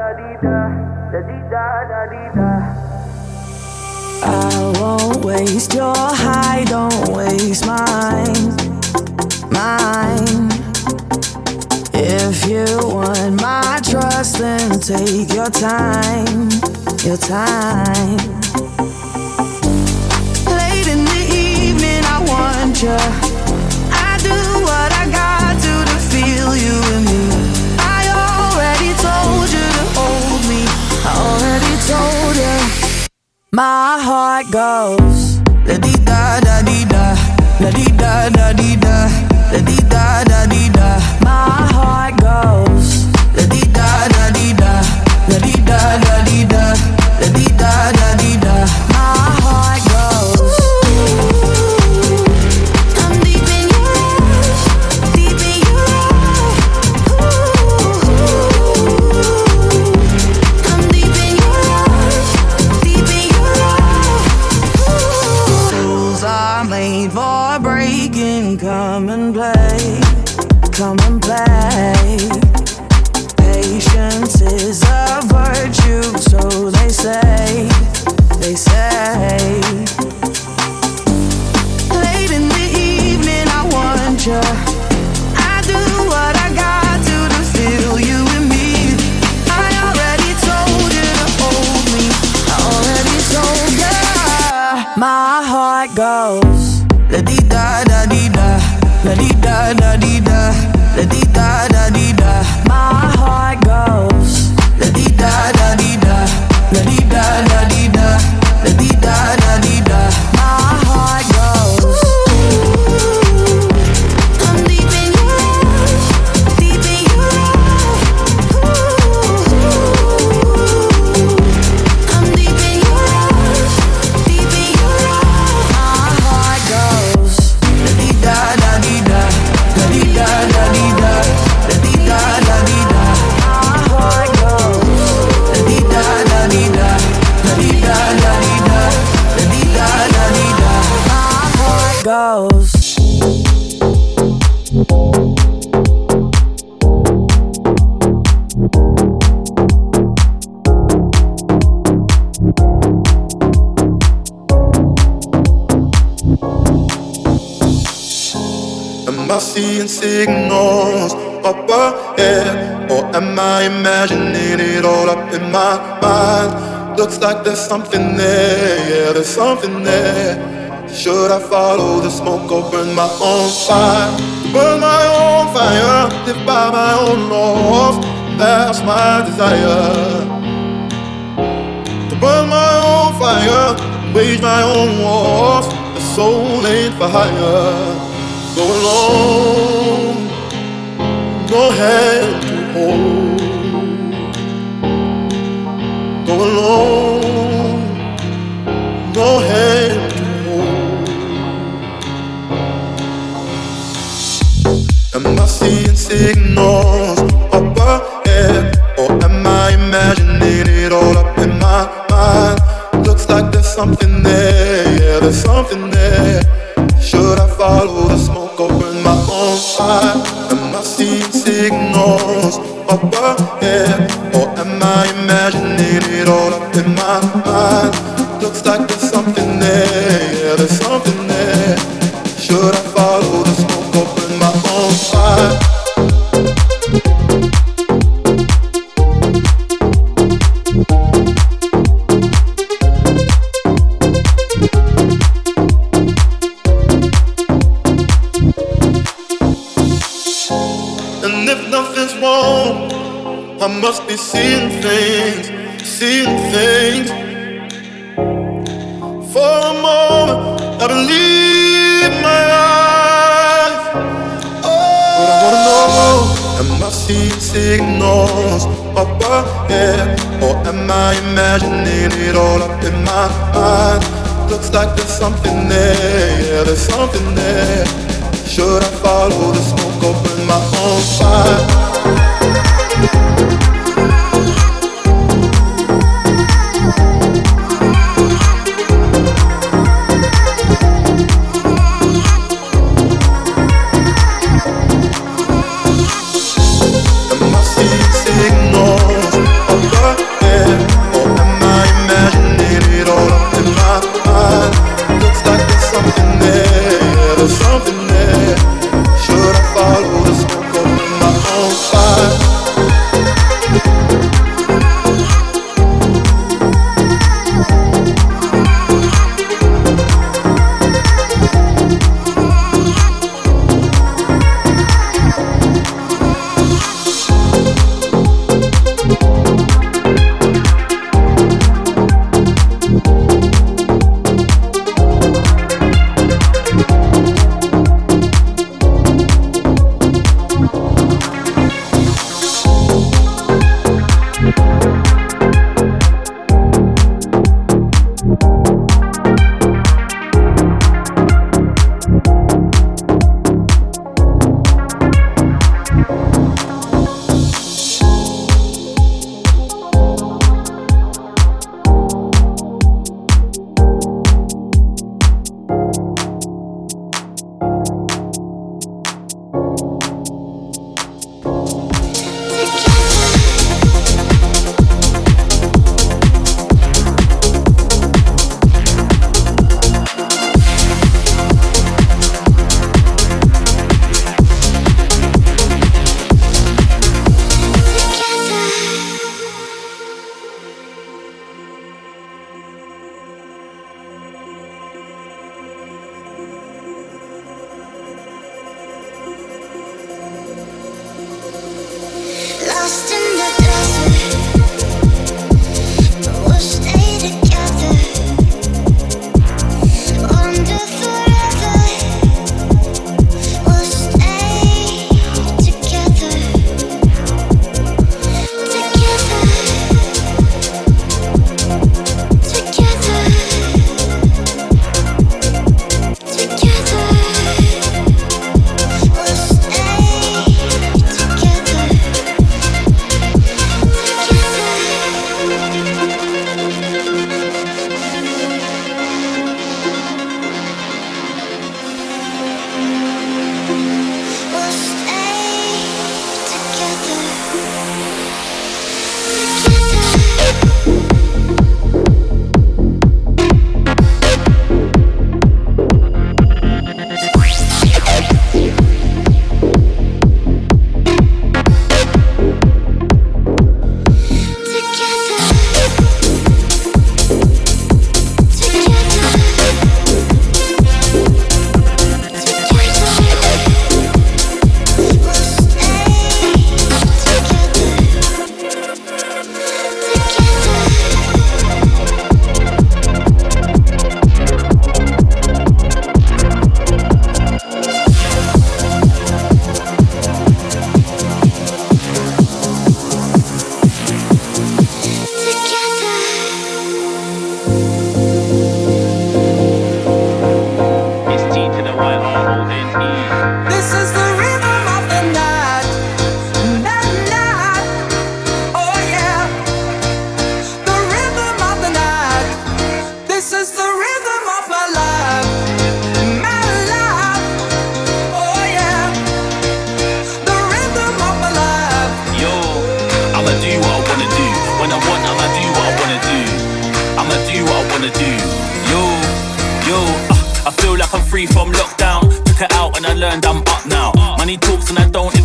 I won't waste your high, don't waste mine. If you want my trust, then take your time. Late in the evening, I want you. I do what I got to feel you and me. I already told you to hold me. I already told you. My heart goes la di da da di da, la di da da di da, la di da da di da. My heart goes la di da da di da, la di da da di da, la di da da di da. My heart goes. I'm deep in your arms, deep in your arms. I'm deep in your arms, deep in your arms. Rules are made for breaking. Come and play, come and play. Patience is a virtue, so they say, they say. Late in the evening, I want you. I do what I got to feel you and me. I already told you to hold me. I already told you. My heart goes la di da da di da, la di da da di da, la di da da di da. My heart goes la di da da di da, la di da da di da, la di da da di da. My heart goes. I'm deep in your arms, deep in your arms. I'm deep in your arms, deep in your arms. My heart goes la di da da di da, la di da da di da, la di da da di da. My heart goes la di da da di da, la di da da di da, la di da da di da. My heart goes. Am I seeing signals up ahead, or am I imagining it all up in my mind? Looks like there's something there, yeah, there's something there. Should I follow the smoke or burn my own fire? Burn my own fire, live by my own laws. That's my desire. To burn my own fire, wage my own wars. The soul ain't for hire. Go alone, no hand to hold. Go alone, no hand to hold. Am I seeing signals up ahead, or am I imagining it all up in my mind? Looks like there's something there, yeah, there's something there. Should I follow the smoke or burn my own fire? Am I seeing signals up ahead, or am I imagining it all up in my mind? Looks like there's something there, yeah, there's something there. Should I follow the smoke or burn my own fire? I must be seeing things, seeing things. For a moment, I believe my eyes. But I wanna know, am I seeing signals up ahead, or am I imagining it all up in my mind? Looks like there's something there, yeah, there's something there. Should I follow the smoke or burn my own fire? Signals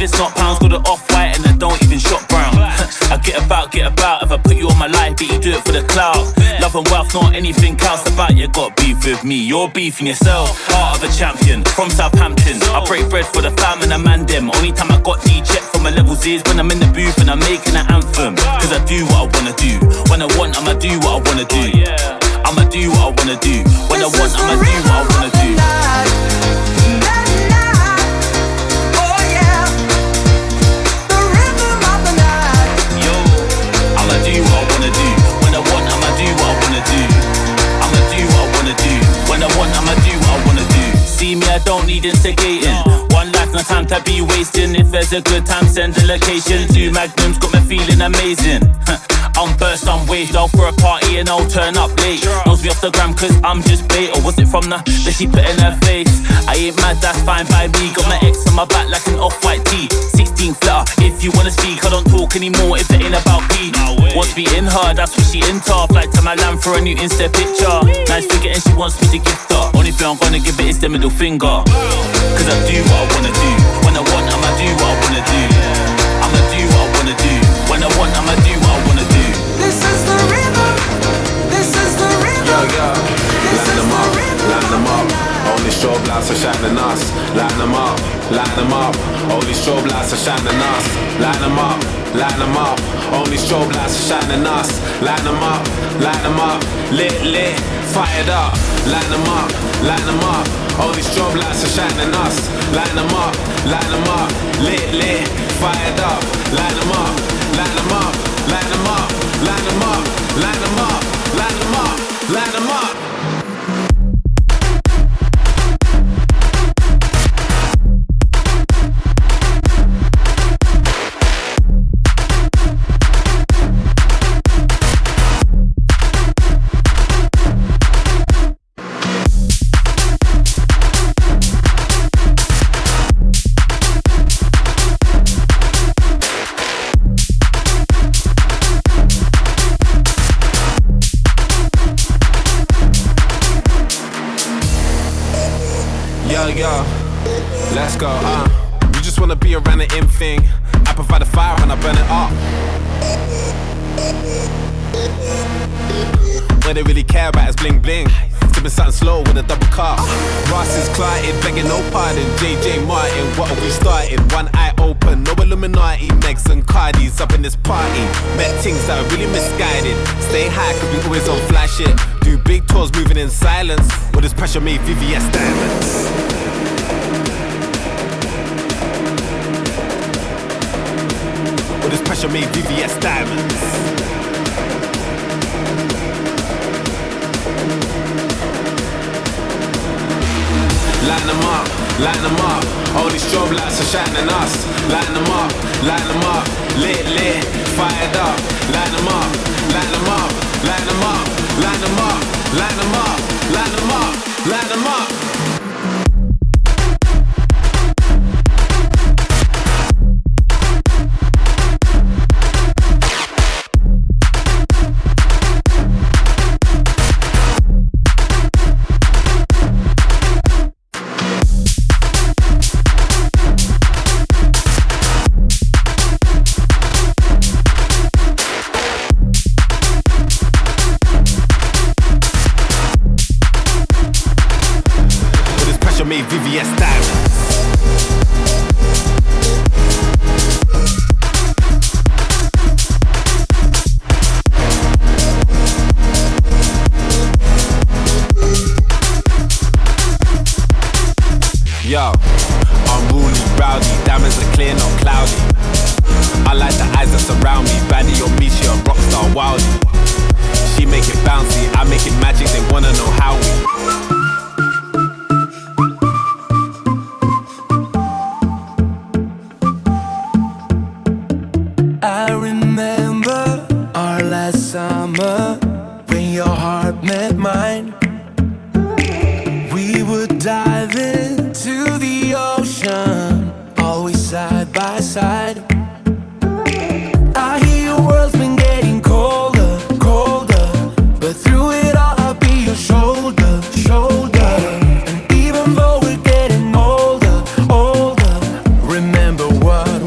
it's not pounds. Got it off-white and I don't even shop brown. I get about. If I put you on my life, but you do it for the clout. Love and wealth, not anything else about you. Got beef with me, you're beefing yourself. Heart of a champion, from Southampton. I break bread for the fam and the man them. Only time I got D-check for my levels is when I'm in the booth and I'm making an anthem. Cause I do what I wanna do. When I want, I'ma do what I wanna do. I'ma do what I wanna do. When I want, I'ma do what I wanna do. Do what I wanna do. When I want, I'ma do what I wanna do. I'ma do what I wanna do. When I want, I'ma do what I wanna do. See me, I don't need instigating. One life, no time to be wasting. If there's a good time, send the location. 2 magnums got me feeling amazing. I'm burst, I'm waved. I'll for a party and I'll turn up late. Knows me off the gram cause I'm just bait. Or was it from the that she put in her face? I ain't mad, that's fine by me. Got my ex on my back like an off-white tee. 16 flutter, if you wanna speak, I don't talk anymore if it ain't about me. Wants me in her, that's what she into. Flight to my land for a new Insta picture. Nice figure and she wants me to gift her. Only thing I'm gonna give it is the middle finger. Cause I do what I wanna do. When I want, I'ma do what I wanna do. I'ma do what I wanna do. When I want, I'ma do what I wanna do. This is the rhythm. This is the rhythm. Yo, line them up. Only strobe lights are shining us. Line them up. Only strobe lights are shining us. Line them up. Only strobe lights are shining us. Line them up. Lit, fired up. Line them up. Only strobe lights are shining us. Line them up. Lit, fired up. Line them up. Line them up. Line them up. Line them up. Line them up. Line them up. Line them up. Yo, let's go, You just wanna be around the in thing. I provide the fire and I burn it up. What they really care about is bling bling. Sipping something slow with a double cup. Ross is clotted, begging no pardon. JJ Martin, what are we starting? One eye open, no Illuminati. Megs and Cardis up in this party. Met things that are really misguided. Stay high cause we always on fly shit. Do big tours moving in silence. All this pressure made VVS diamonds. All this pressure made VVS diamonds. Line them up. All these strobe lights are shining us. Line them up. Lit, fired up. Line them up. Line them up. Line them up. Line them up. Line them up. Line them up. Line them up. Made VVS diamonds. Yo, unruly, rowdy, diamonds are clear, not cloudy. I like the eyes that surround me. Baddie on me, she a rockstar wildie. She make it bouncy, I make it magic. They wanna know how we. Summer, when your heart met mine, we would dive into the ocean, always side by side. I hear your world's been getting colder, colder, but through it all I'll be your shoulder, shoulder. And even though we're getting older, older, remember what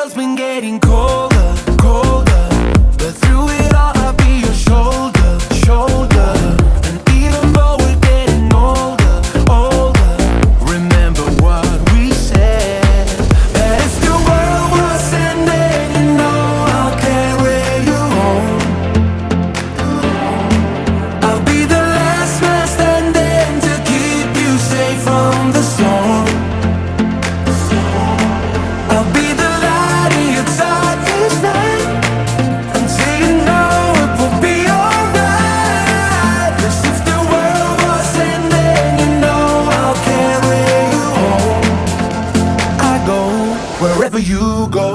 world's been getting colder, colder, but through it all I'll be your shoulder, shoulder. And even though we're getting older, older, remember what we said, that if the world was ending, you know I'll carry you home. I'll be the last man standing to keep you safe from the storm. I'll be the light in your darkest night, until you know it will be alright. 'Cause if the world was ending, you know I'll carry you home. I go wherever you go.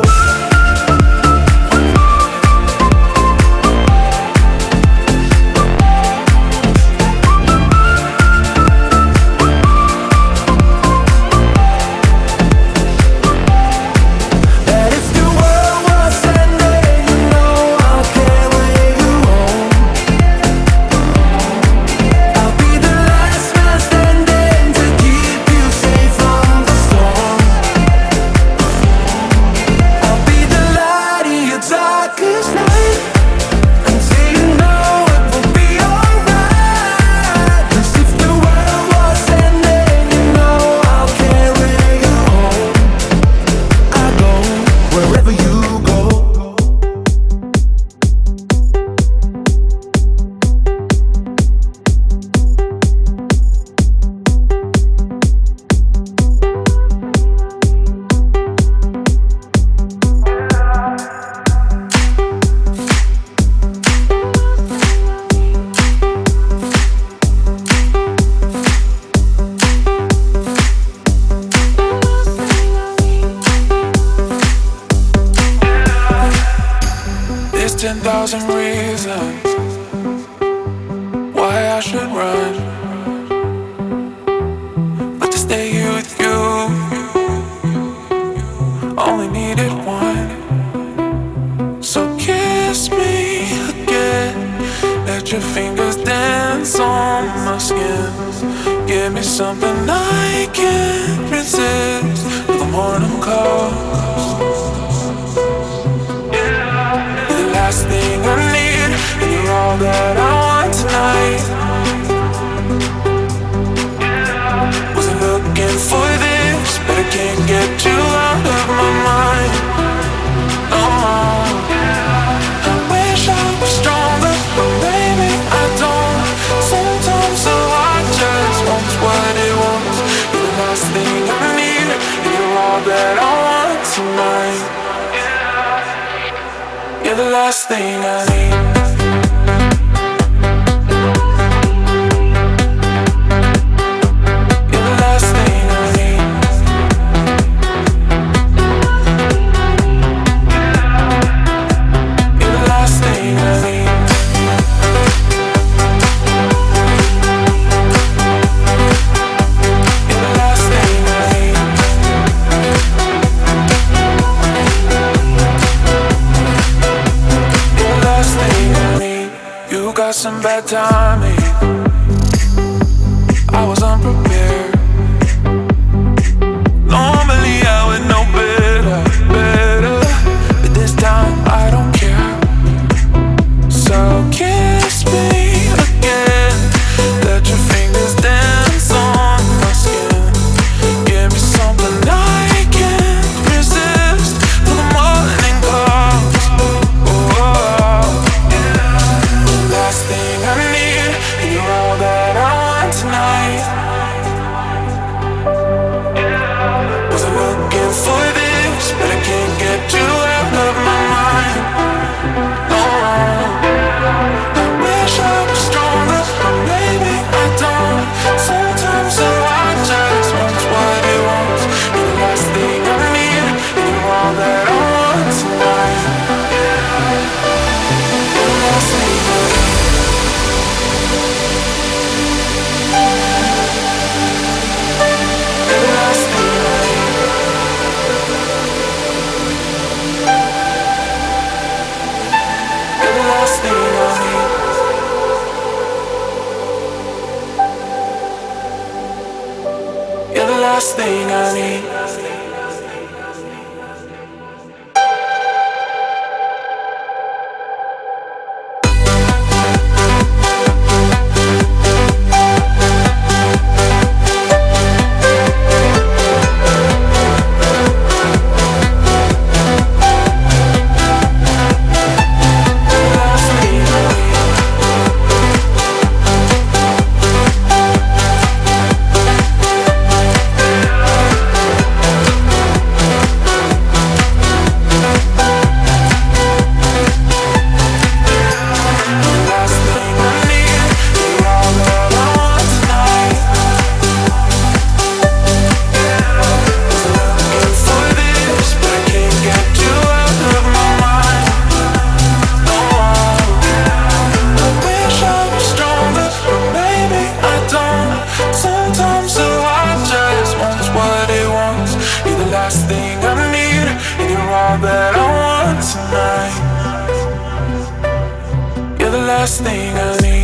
That if the world was ending, you know I'll carry you home. I'll be the last man standing to keep you safe from the storm. I'll be the light in your darkest night, until you know it will be alright. 'Cause if the world was ending, you know I'll carry you home. I go wherever you go. There's 10,000 reasons why I should run, but to stay here with you, only needed one. So kiss me again, let your fingers dance on my skin. Give me something I can't resist till the morning comes. You're the last thing I need, and you're all that I want tonight. Wasn't looking for this, but I can't get you out of my mind. Oh, I wish I was stronger, but baby I don't. Sometimes the heart just wants what it wants. You're the last thing I need, and you're all that I want tonight. You're the last thing I need. You're the last thing I need. You're the last thing I need. You're the last thing I need. You're the last thing I need. You got some bad timing. I was unprepared. Normally I would know better, better, but this time I don't care. So kiss me again, let your fingers dance on my skin. Give me something I can't resist till the morning comes. Oh, last thing I need, and you're all that I want tonight. Wasn't looking for this, but I can't get you out of my mind. No, I wish I was stronger, but maybe I don't. Sometimes the heart just wants what it wants. You're the last thing I need, and you're all that I want tonight. You're the last thing I need. You're the last thing I need. You're the last thing I need. You're the last thing I need. last thing I need.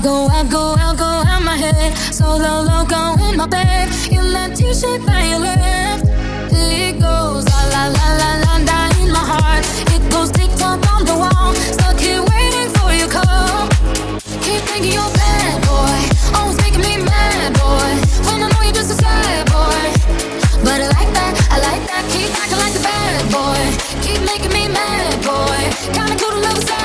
go out my head. Solo loco in my bed. In that t-shirt that you left. It goes la la la la la la in my heart. It goes tick-tock on the wall. Stuck here waiting for your call. Keep thinking you're bad, boy. Always making me mad, boy. When I know you're just a sad boy. But I like that. Keep acting like a bad boy. Keep making me mad, boy. Kinda cool to love a sad